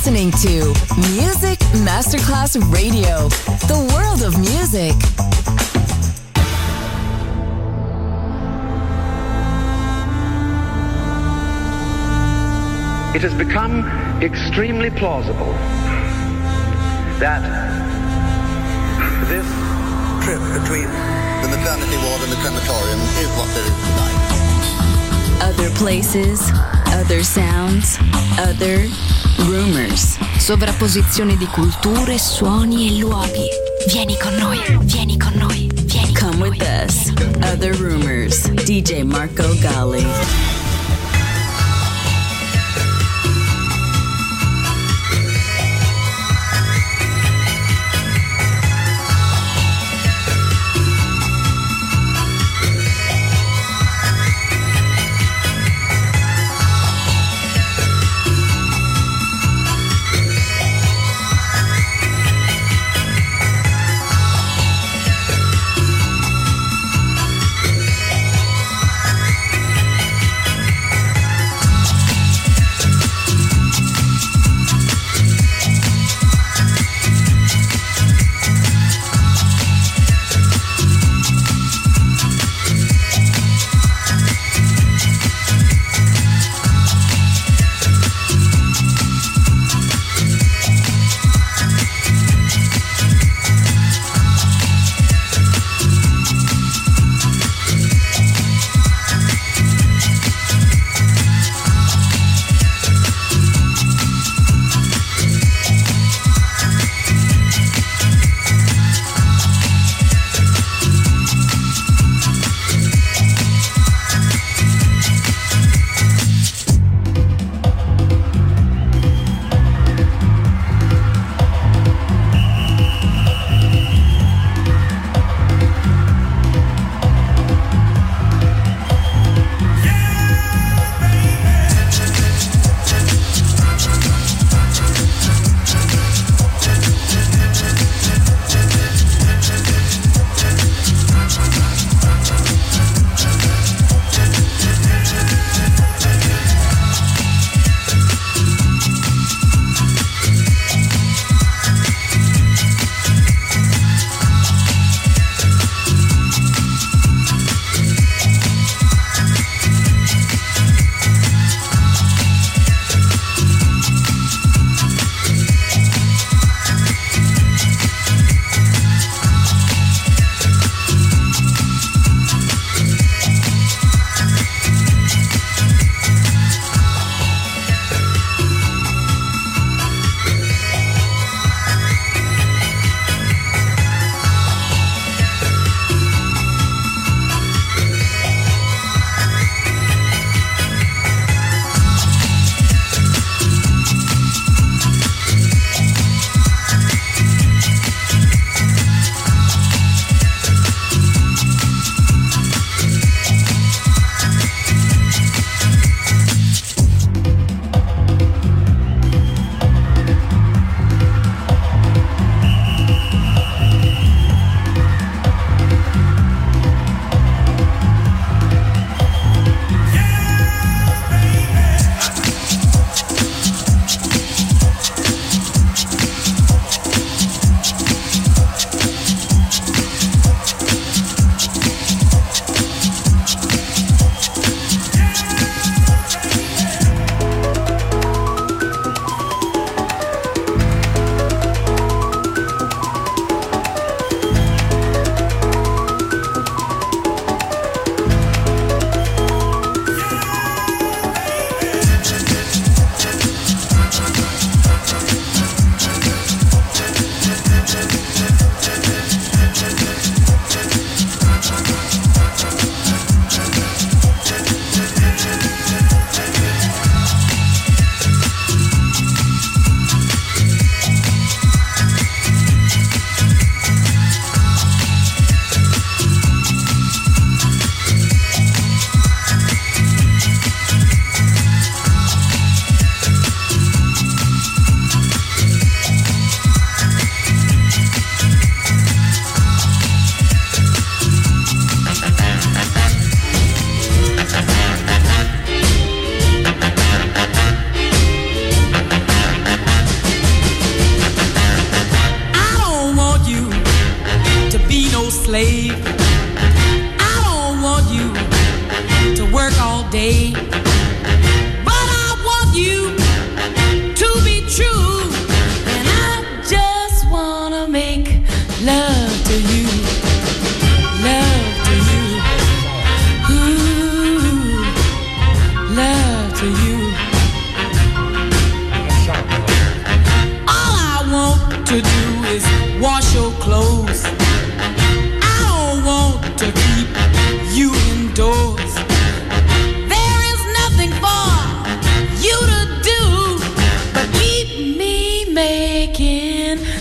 listening to Music Masterclass Radio, the world of music. It has become extremely plausible that this trip between the maternity ward and the crematorium is what there is tonight. Other places, other sounds, other rumors. Sovrapposizione di culture, suoni e luoghi. Vieni con noi, vieni con noi, vieni con Come noi. with us. Other rumors. DJ Marco Gally.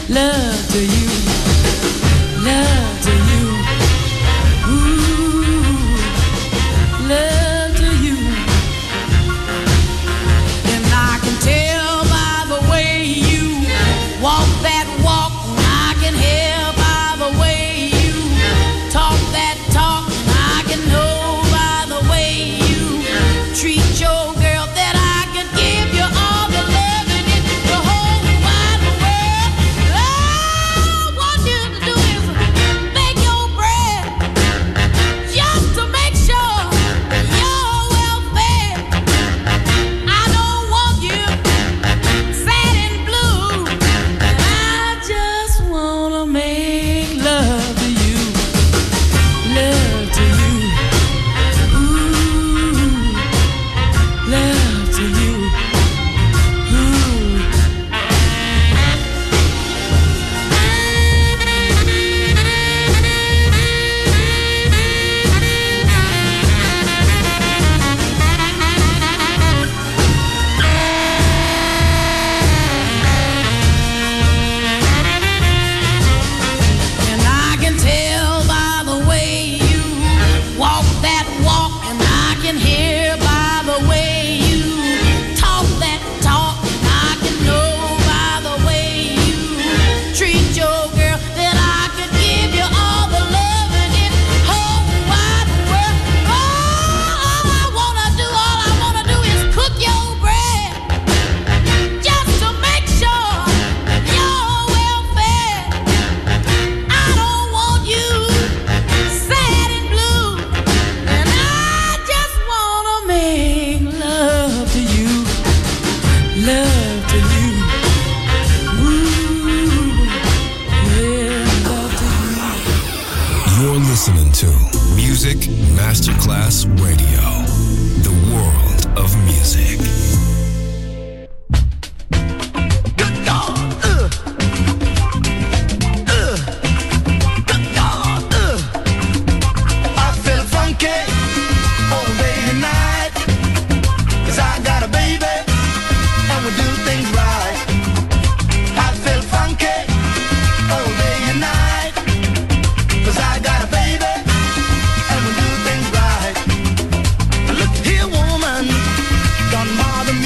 love to you, love to you, ooh, love to you. And I can tell by the way you walk that walk, I can hear by the way you talk that talk, I can know by the way you treat your girl that I could give you all the love in it, the whole wide world. All I want you to do is make your bread, just to make sure you're well fed. I don't want you sad and blue, and I just wanna make love to you, love to you, ooh, love to you, ooh. And I can tell by the way you walk that walk, and I can hear by the way you talk that talk, and I can know by the way you treat your girl that I could give you all the love in it whole wide world. All I wanna do is cook your bread, just to make sure you're well fed. I don't want you sad and blue, and I just wanna make love to you, love to you, ooh, yeah, love to you. You're listening to Music Masterclass Radio, the world of music. Good God, good God, I feel funky all day and night, 'cause I got a baby and we do things right. I feel funky all day and night, 'cause I got a baby and we do things right. Look here, woman, don't bother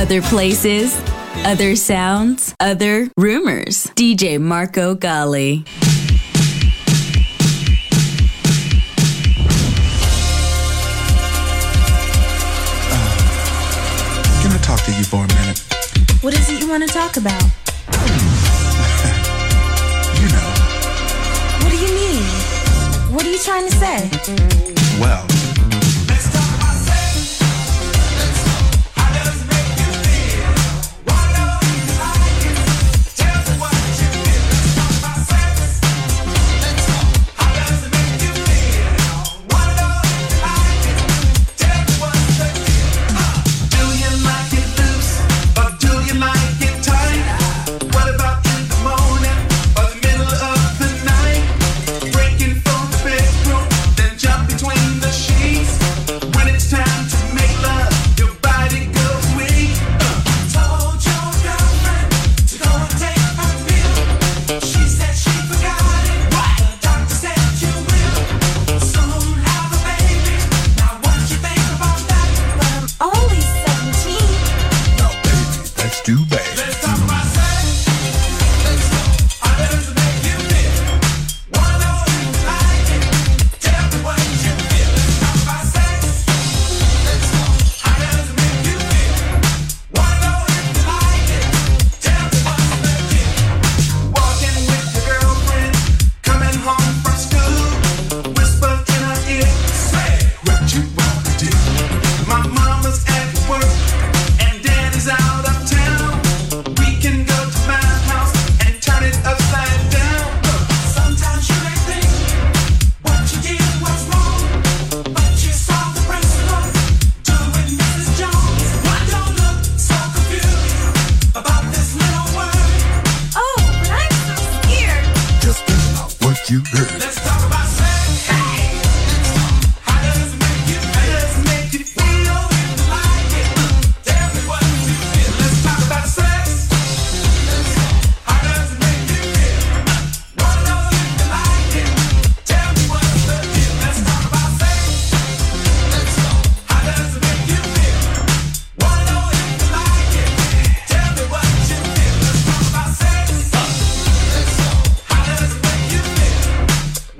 Other places, other sounds, other rumors. DJ Marco Gally. Can I talk to you for a minute? What is it you want to talk about? You know. What do you mean? What are you trying to say? Well, Let's talk about sex. How does it make you feel? Why don't you like it? Tell me what you feel. Let's talk about sex. How does it make you feel? Why don't you like it? Tell me what's the deal. Do you like it loose or do you like it tight? What about in the morning or the middle of the night? Breaking from the bedroom, then jump between the sheets. When it's time to make love, your body goes weak. Told your girlfriend to go and take a pill. She said she forgot it. The doctor said you will soon have a baby. Now what you think about that? I'm only 17. no, baby, that's too bad. Let's talk about sex. How does it make you feel? Wanna know if you like it? Tell me what you feel. Let's talk about sex. How does it make you feel? Wanna know if you like it? Tell me what's the deal. Walking with your girlfriend, coming home from school, whisper in her ear, say what you wanna do. My mama's at work and daddy's out of town. We can go to my house and turn it upside down. Sometimes you may think what you did was wrong, but you saw the principle. Do it, Mrs. Jones. Why don't look so confused about this little word? Oh, but I'm so scared. Just think about what you heard. Let's talk about sex. How does it make you feel? How does it make you feel? Like it? Tell me what you feel. Let's talk about sex. How does it make you feel? Wanna know if you like it? Tell me what's the deal. Let's talk about sex. How does it make you feel? Wanna know if you like it? Tell me what you feel. Let's talk about sex. How does it make you feel?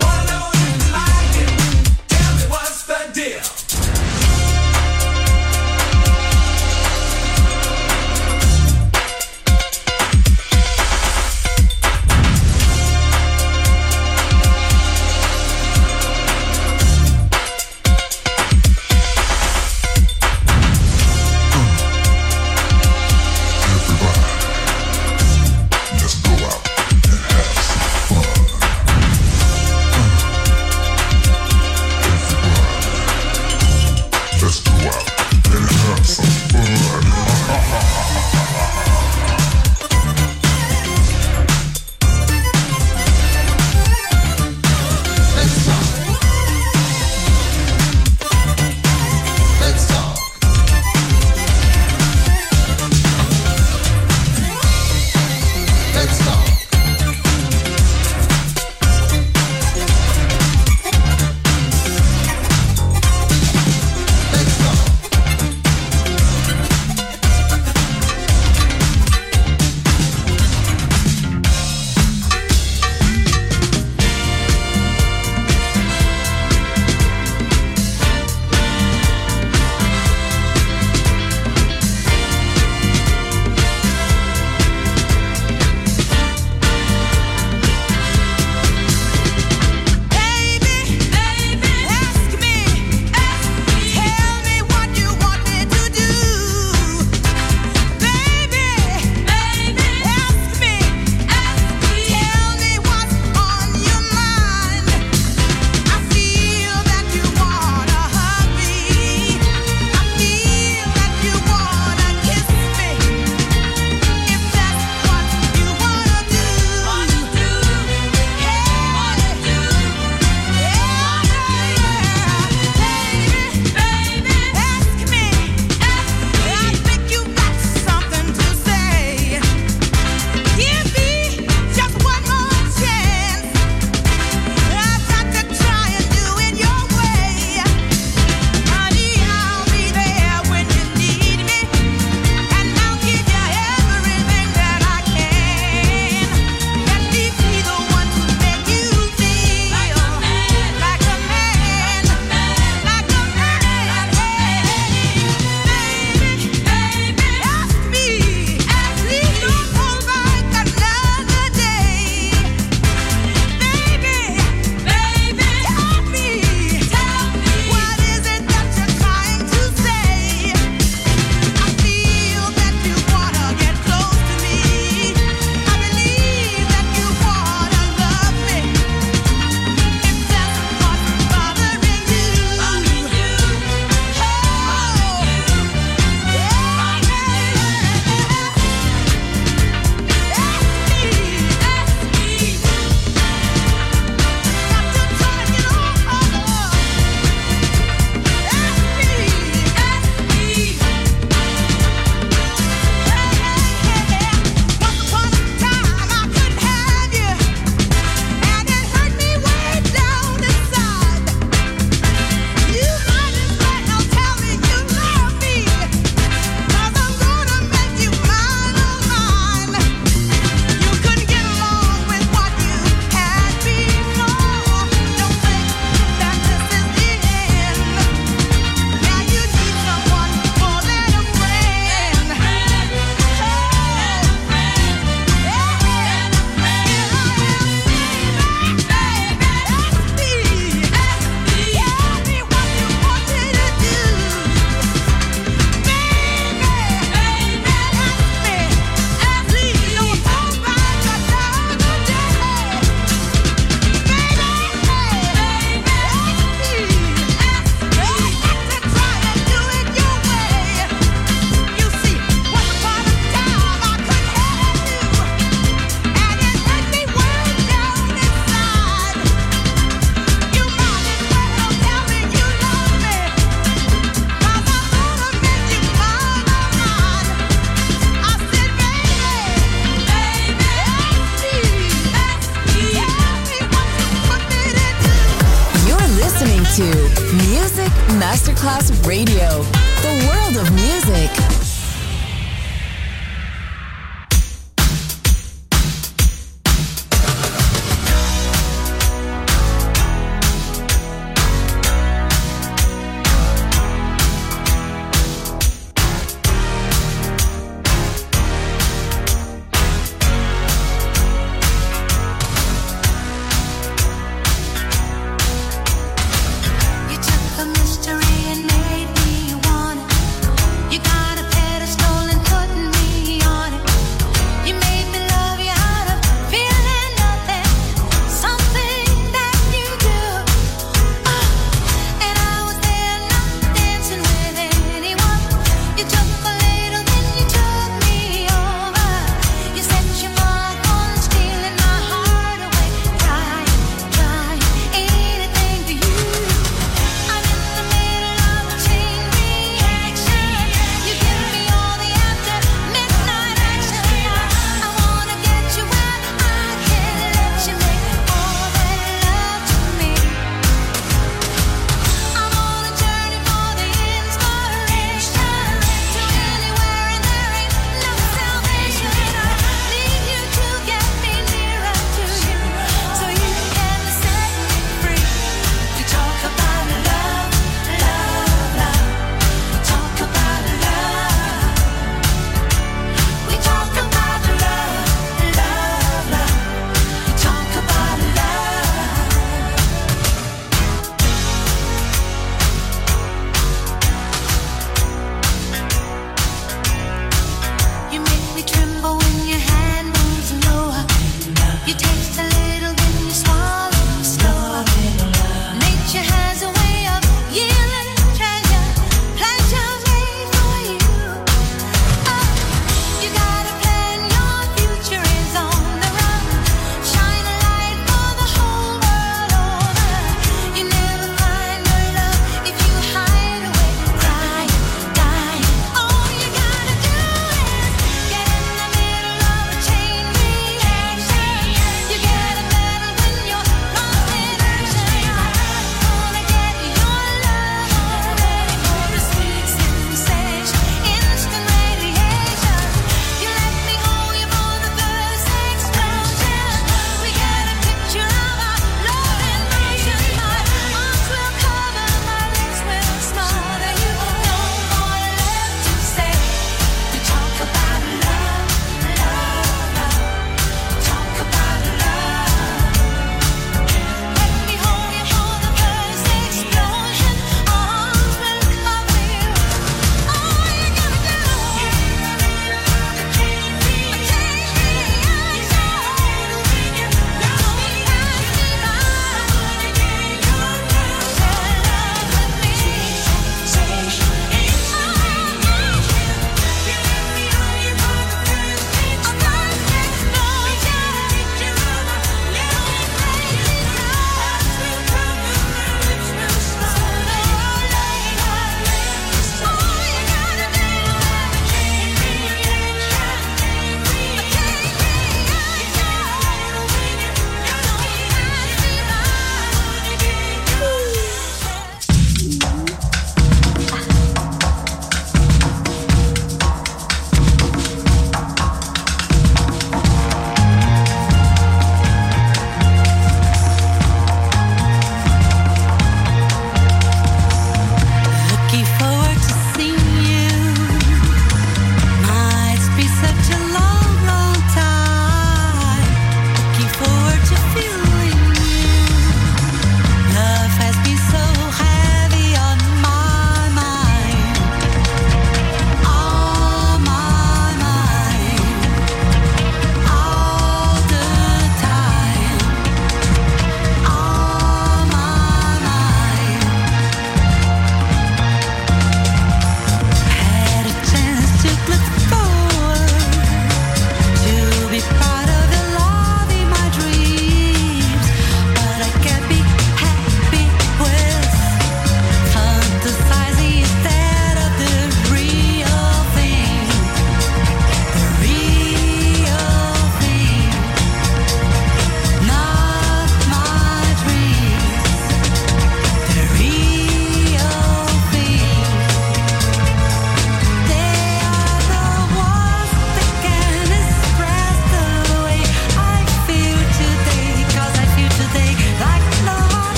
Music Masterclass Radio. The world of music. You took a mystery and made me want it. You got a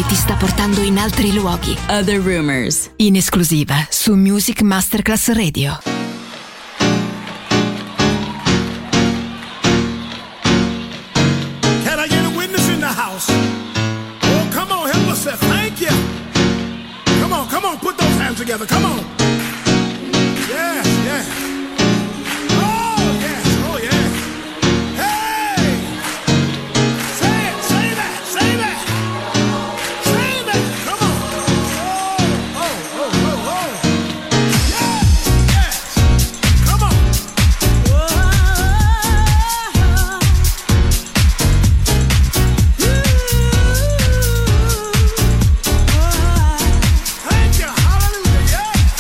ti sta portando in altri luoghi. Other Rumors, In esclusiva su Music Masterclass Radio. Can I get a witness in the house? Oh, come on, help us say thank you. Come on, put those hands together. Come on. Yes, yes. Oh, yes, oh, yeah. Hey! Say it, say that, say that. Say that, come on. Oh. Yes, yes. Come on. Thank you, hallelujah, yeah.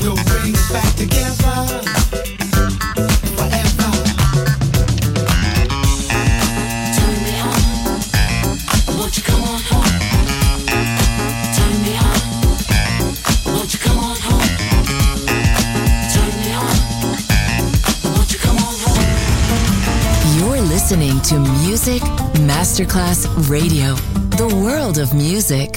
We'll bring it back together. Listening to Music Masterclass Radio, the world of music.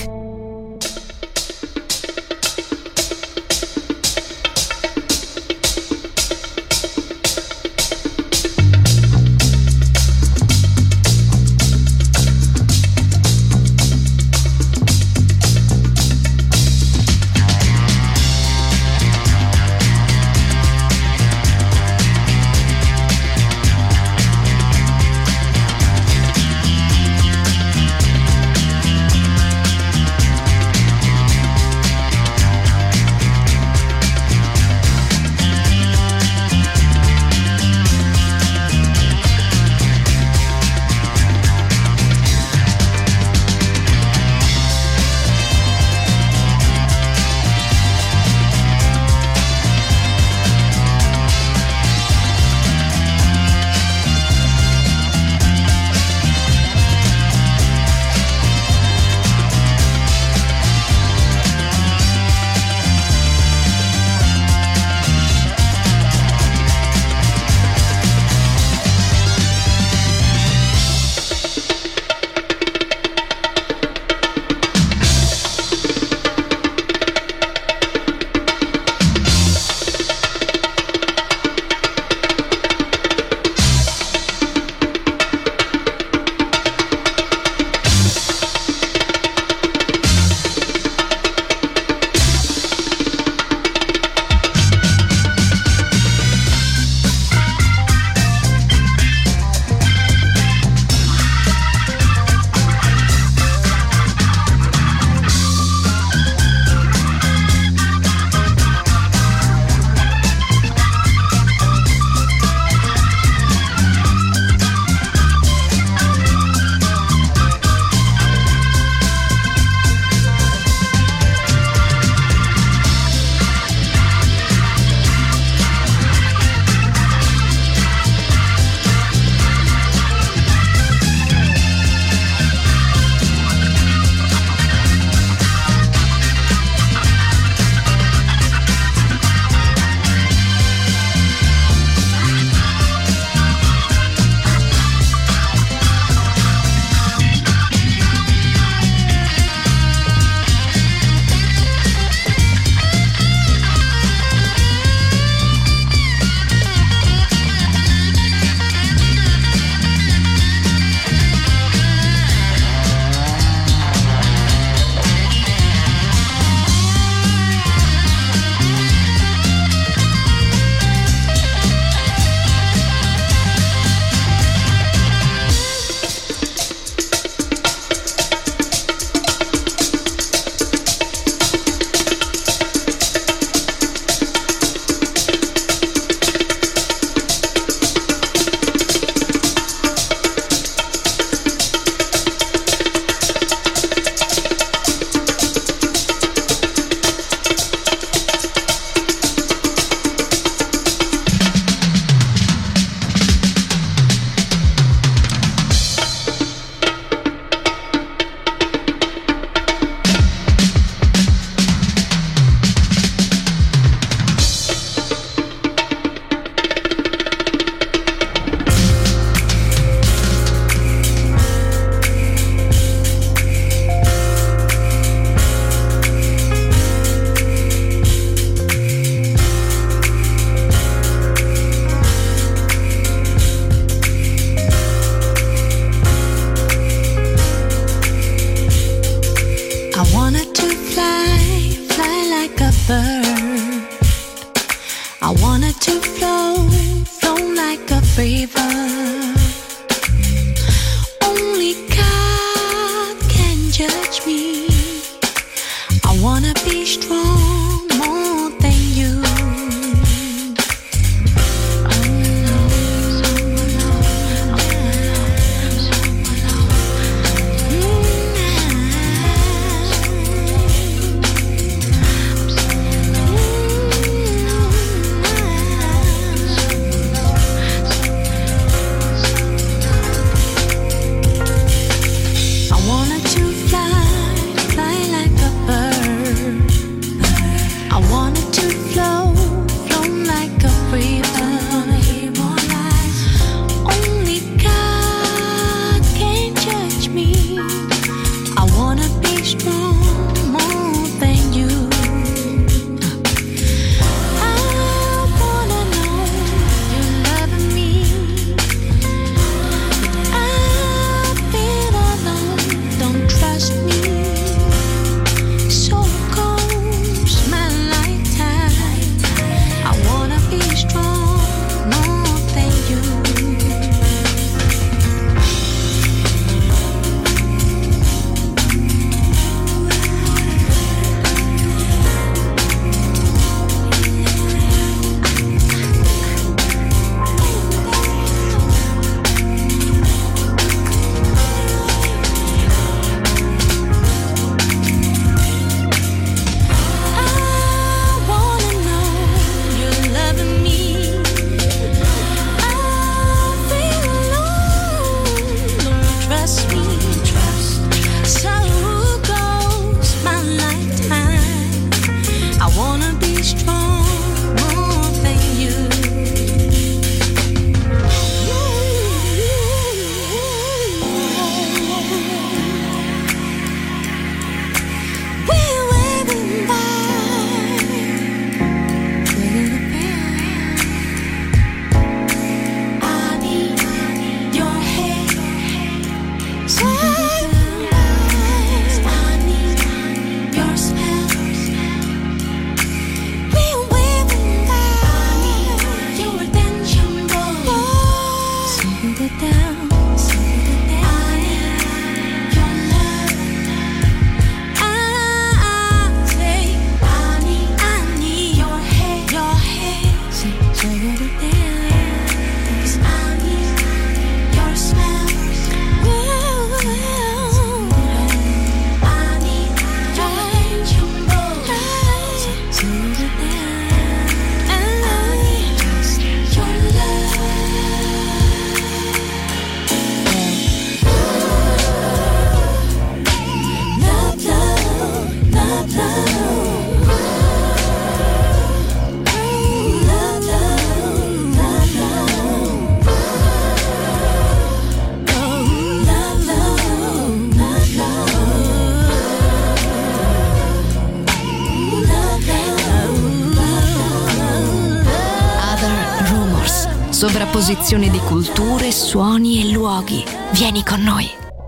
Sovrapposizione di culture, suoni e luoghi. Vieni con noi.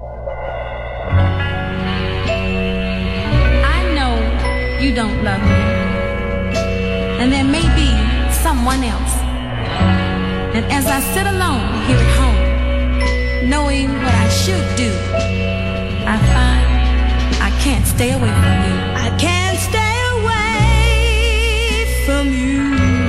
I know you don't love me, and there may be someone else. And as I sit alone here at home, knowing what I should do, I find I can't stay away from you. I can't stay away from you.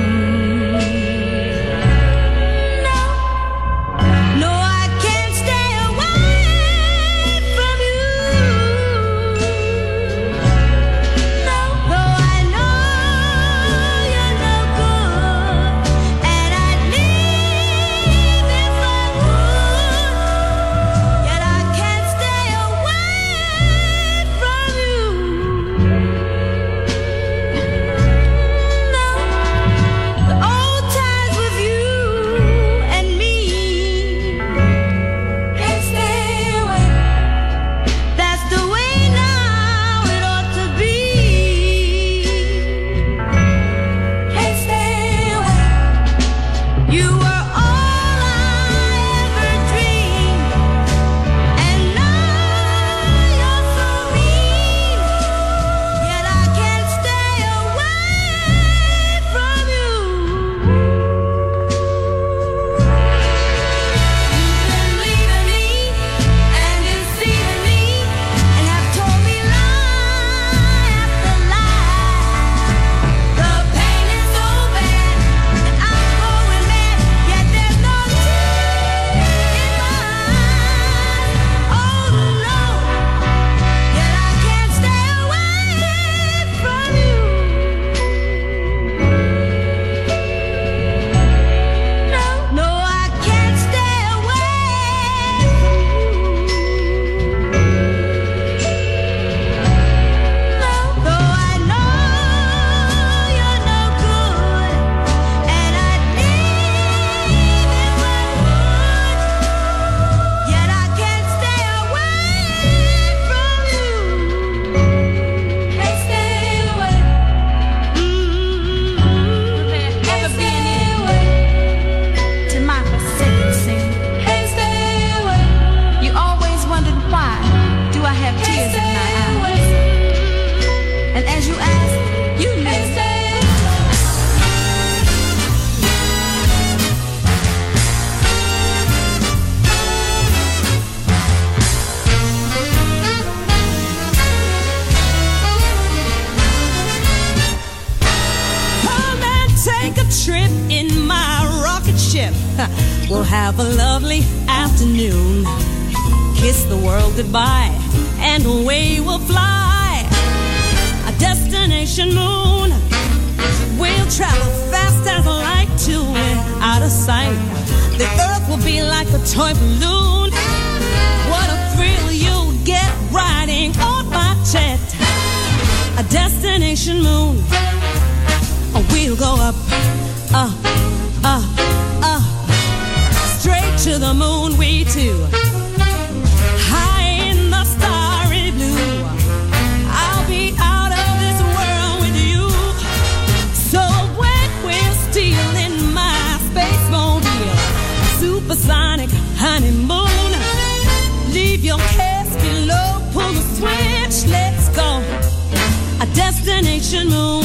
We'll have a lovely afternoon. Kiss the world goodbye, and away we'll fly. A destination moon. We'll travel fast as light to it, out of sight. The earth will be like a toy balloon. What a thrill you'll get riding on my jet. A destination moon. We'll go up, straight to the moon, we two. High in the starry blue. I'll be out of this world with you. So when we're stealing my space mobile, supersonic honeymoon, leave your cares below, pull the switch, let's go. A destination moon.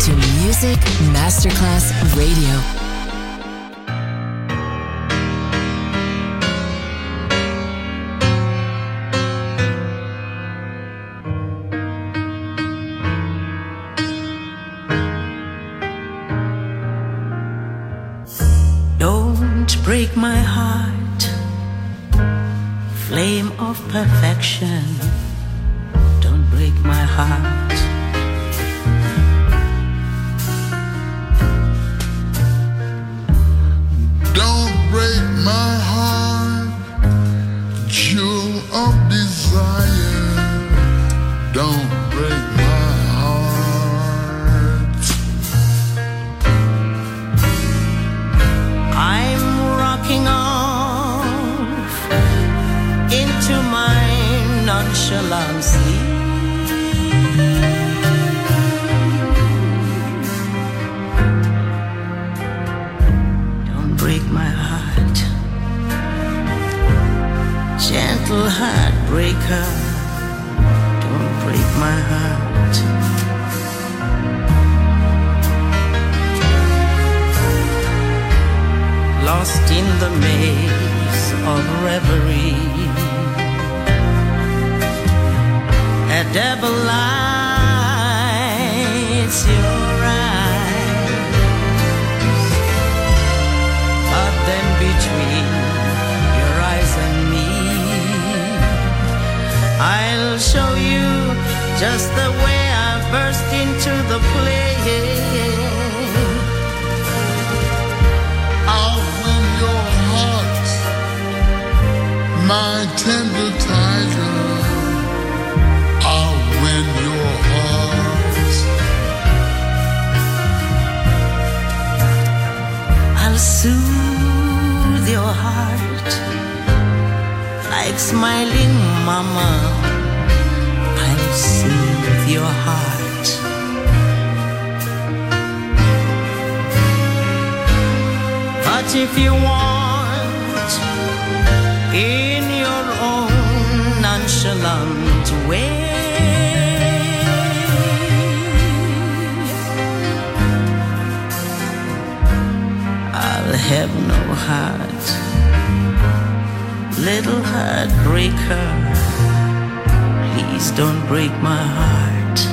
to Music Masterclass Radio. Don't break my heart, flame of perfection. Don't break my heart. Don't break my heart, jewel of desire. Don't break my heart. I'm rocking off into my nonchalance. Don't break my heart, gentle heartbreaker. Don't break my heart. Lost in the maze of reverie, a devil lights your eyes, but then between your eyes and me, I'll show you just the way I burst into the play. I'll win your heart, my tender tiger. I'll win your heart. I'll soothe your heart like smiling mama. I'll soothe your heart. But if you want, in your own nonchalant way, I'll have no heart, little heartbreaker. Please don't break my heart.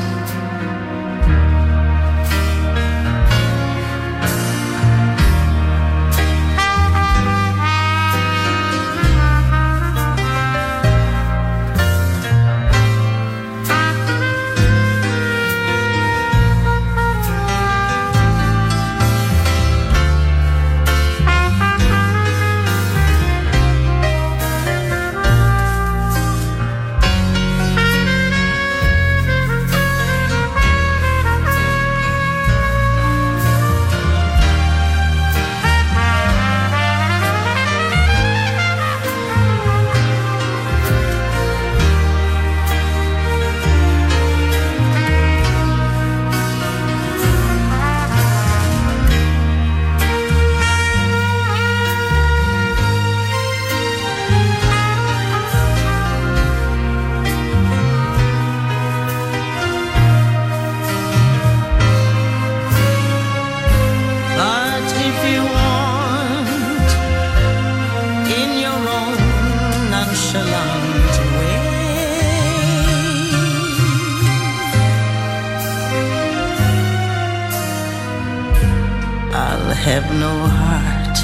Have no heart,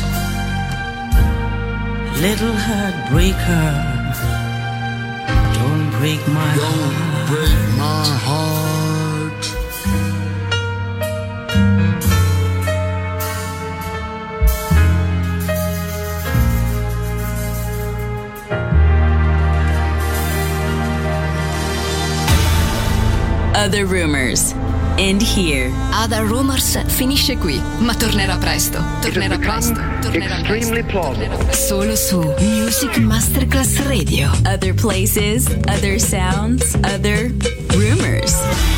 little heartbreaker. Don't break my heart. Don't break my heart. Other Rumors. End here. Other Rumors finisce qui, ma tornerà presto. Tornerà presto. Extremely plausible. Solo su Music Masterclass Radio. Other places, other sounds, other rumors.